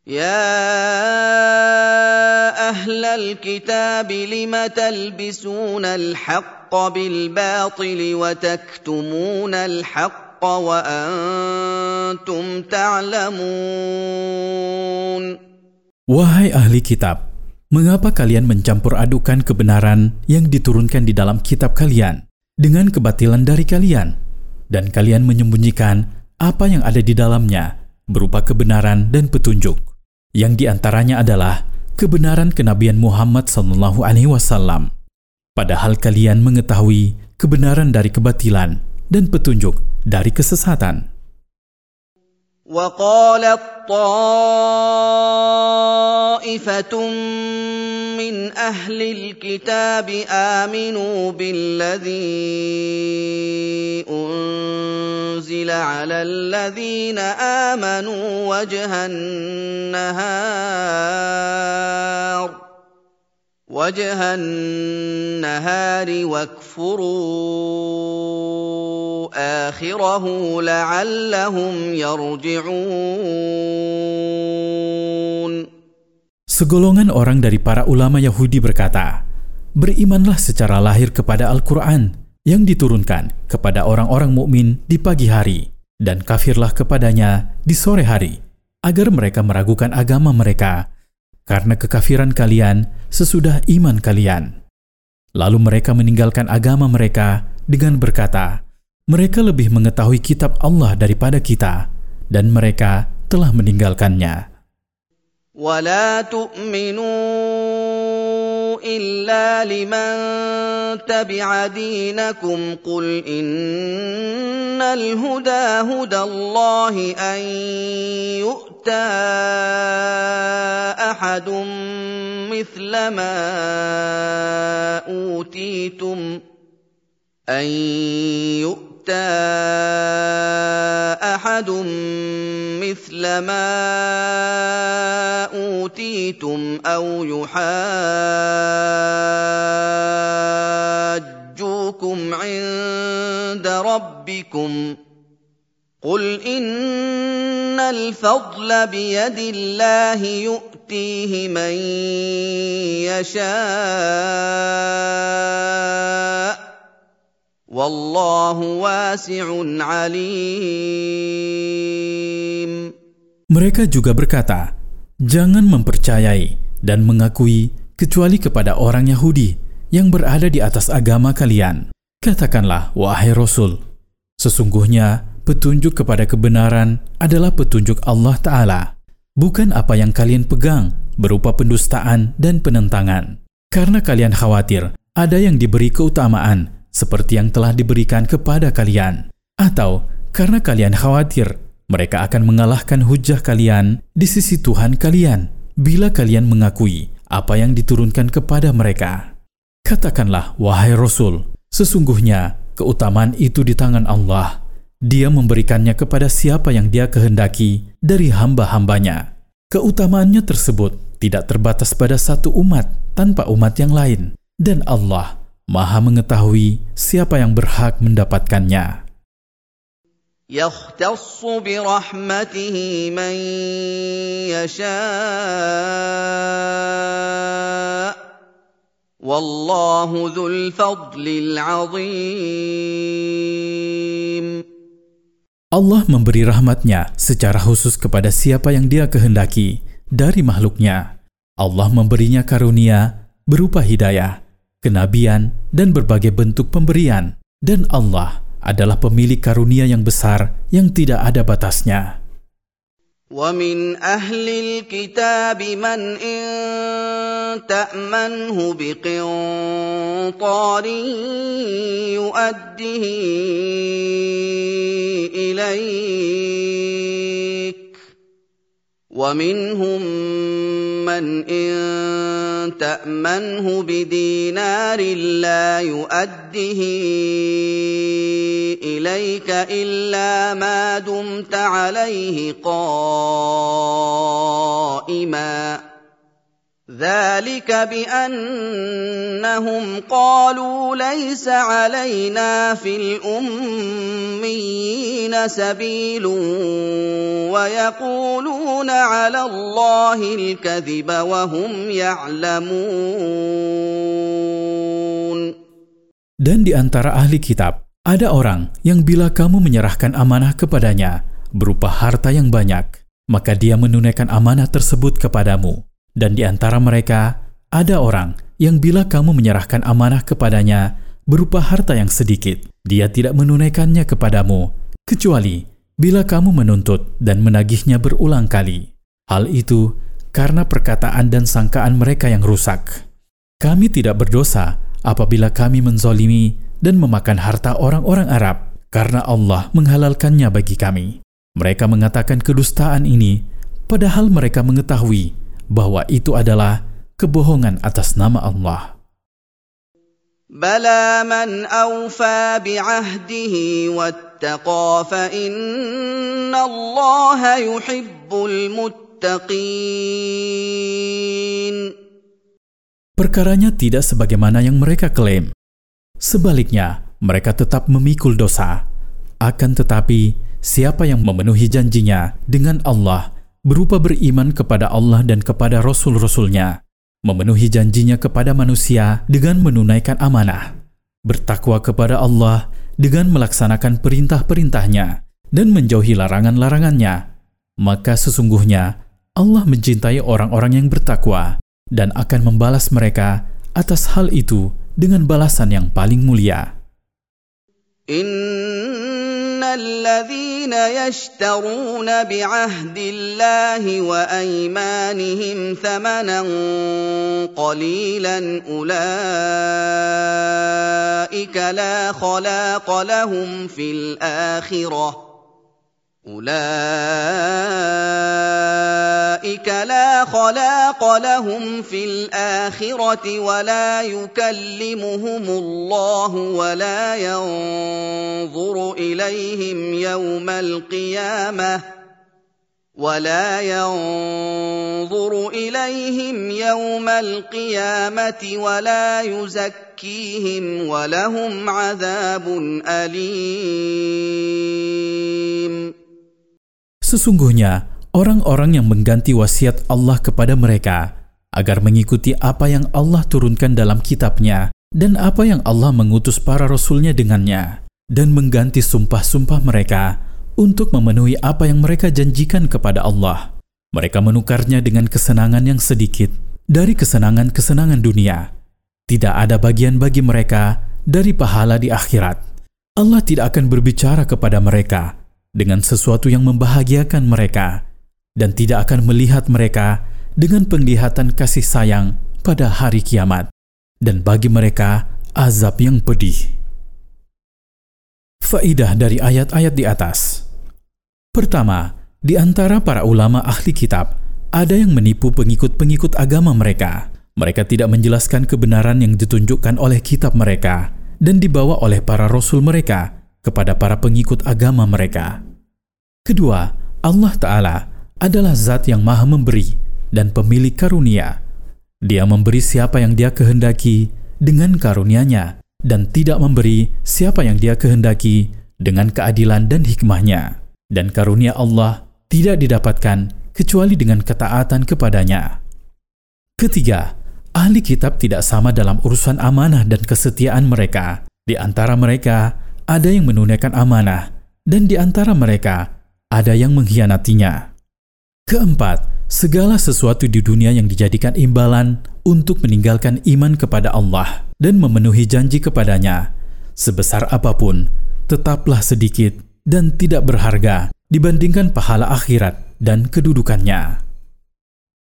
يا أهل الكتاب لم تلبسون الحق بالباطل وتكتمون الحق وأنتم تعلمون. Wahai ahli kitab, mengapa kalian mencampur adukan kebenaran yang diturunkan di dalam kitab kalian dengan kebatilan dari kalian, dan kalian menyembunyikan apa yang ada di dalamnya berupa kebenaran dan petunjuk, yang diantaranya adalah kebenaran kenabian Muhammad SAW. Padahal kalian mengetahui kebenaran dari kebatilan dan petunjuk dari kesesatan. وقالت طائفة من أهل الكتاب آمنوا بالذي أنزل على الذين آمنوا وجه النهار واكفروا آخره لعلهم يرجعون. Segolongan orang dari para ulama Yahudi berkata, berimanlah secara lahir kepada Al-Quran yang diturunkan kepada orang-orang mukmin di pagi hari, dan kafirlah kepadanya di sore hari, agar mereka meragukan agama mereka, karena kekafiran kalian sesudah iman kalian. Lalu mereka meninggalkan agama mereka dengan berkata, mereka lebih mengetahui kitab Allah daripada kita, dan mereka telah meninggalkannya. ولا تؤمنوا إلا لمن تبع دينكم قل إن الهدى هدى الله أن يؤتى أحد مثل ما أوتيتم أو يحاجوكم عند ربكم قل إن الفضل بيد الله يؤتيه من يشاء والله واسع عليم. Mereka juga berkata, jangan mempercayai dan mengakui kecuali kepada orang Yahudi yang berada di atas agama kalian. Katakanlah, wahai Rasul, sesungguhnya petunjuk kepada kebenaran adalah petunjuk Allah Ta'ala, bukan apa yang kalian pegang berupa pendustaan dan penentangan. Karena kalian khawatir ada yang diberi keutamaan seperti yang telah diberikan kepada kalian, atau karena kalian khawatir mereka akan mengalahkan hujah kalian di sisi Tuhan kalian bila kalian mengakui apa yang diturunkan kepada mereka. Katakanlah, wahai Rasul, sesungguhnya keutamaan itu di tangan Allah. Dia memberikannya kepada siapa yang Dia kehendaki dari hamba-hambanya. Keutamaannya tersebut tidak terbatas pada satu umat tanpa umat yang lain, dan Allah Maha mengetahui siapa yang berhak mendapatkannya. يختص برحمته من يشاء والله ذو الفضل العظيم. Allah memberi rahmatnya secara khusus kepada siapa yang Dia kehendaki dari makhluknya. Allah memberinya karunia berupa hidayah, kenabian, dan berbagai bentuk pemberian. Dan Allah adalah pemilik karunia yang besar yang tidak ada batasnya. وَمِنْ أَهْلِ الْكِتَابِ مَنْ إِنْ تَأْمَنْهُ بِقِنْطَارٍ يُؤَدِّهِ إِلَيْكَ وَمِنْهُمْ مَنْ إِنْ تَأْمَنْهُ بِدِينَارٍ لَا يُؤَدِّهِ إِلَيْكَ إِلَّا مَا دُمْتَ عَلَيْهِ قَائِمًا ذلك بأنهم قالوا ليس علينا في الأميين سبيل ويقولون على الله الكذب وهم يعلمون. Dan di antara ahli kitab, ada orang yang bila kamu menyerahkan amanah kepadanya berupa harta yang banyak, maka dia menunaikan amanah tersebut kepadamu. Dan di antara mereka, ada orang yang bila kamu menyerahkan amanah kepadanya berupa harta yang sedikit, dia tidak menunaikannya kepadamu, kecuali bila kamu menuntut dan menagihnya berulang kali. Hal itu karena perkataan dan sangkaan mereka yang rusak. Kami tidak berdosa apabila kami menzalimi dan memakan harta orang-orang Arab, karena Allah menghalalkannya bagi kami. Mereka mengatakan kedustaan ini, padahal mereka mengetahui bahwa itu adalah kebohongan atas nama Allah. Bala man awfa bi'ahdihi wattaqa fa innallaha yuhibbul muttaqin. Perkaranya tidak sebagaimana yang mereka klaim. Sebaliknya, mereka tetap memikul dosa. Akan tetapi, siapa yang memenuhi janjinya dengan Allah berupa beriman kepada Allah dan kepada Rasul-Rasulnya, memenuhi janjinya kepada manusia dengan menunaikan amanah, bertakwa kepada Allah dengan melaksanakan perintah-perintahnya dan menjauhi larangan-larangannya, maka sesungguhnya Allah mencintai orang-orang yang bertakwa dan akan membalas mereka atas hal itu dengan balasan yang paling mulia. الذين يشترون بعهد الله وأيمانهم ثمنا قليلا أولئك لا خلاق لهم في الآخرة ولا يكلمهم الله ولا ينظر إليهم يوم القيامة ولا يزكيهم ولهم عذاب أليم. Sesungguhnya, orang-orang yang mengganti wasiat Allah kepada mereka agar mengikuti apa yang Allah turunkan dalam kitabnya dan apa yang Allah mengutus para rasulnya dengannya, dan mengganti sumpah-sumpah mereka untuk memenuhi apa yang mereka janjikan kepada Allah. Mereka menukarnya dengan kesenangan yang sedikit dari kesenangan-kesenangan dunia. Tidak ada bagian bagi mereka dari pahala di akhirat. Allah tidak akan berbicara kepada mereka dengan sesuatu yang membahagiakan mereka, dan tidak akan melihat mereka dengan penglihatan kasih sayang pada hari kiamat, dan bagi mereka azab yang pedih. Faidah dari ayat-ayat di atas. Pertama, di antara para ulama ahli kitab, ada yang menipu pengikut-pengikut agama mereka. Mereka tidak menjelaskan kebenaran yang ditunjukkan oleh kitab mereka dan dibawa oleh para rasul mereka kepada para pengikut agama mereka. Kedua, Allah Ta'ala adalah zat yang maha memberi dan pemilik karunia. Dia memberi siapa yang dia kehendaki dengan karunia-Nya dan tidak memberi siapa yang dia kehendaki dengan keadilan dan hikmahnya. Dan karunia Allah tidak didapatkan kecuali dengan ketaatan kepadanya. Ketiga, ahli kitab tidak sama dalam urusan amanah dan kesetiaan mereka. Di antara mereka ada yang menunaikan amanah, dan di antara mereka ada yang mengkhianatinya. Keempat, segala sesuatu di dunia yang dijadikan imbalan untuk meninggalkan iman kepada Allah dan memenuhi janji kepadanya, sebesar apapun, tetaplah sedikit dan tidak berharga dibandingkan pahala akhirat dan kedudukannya.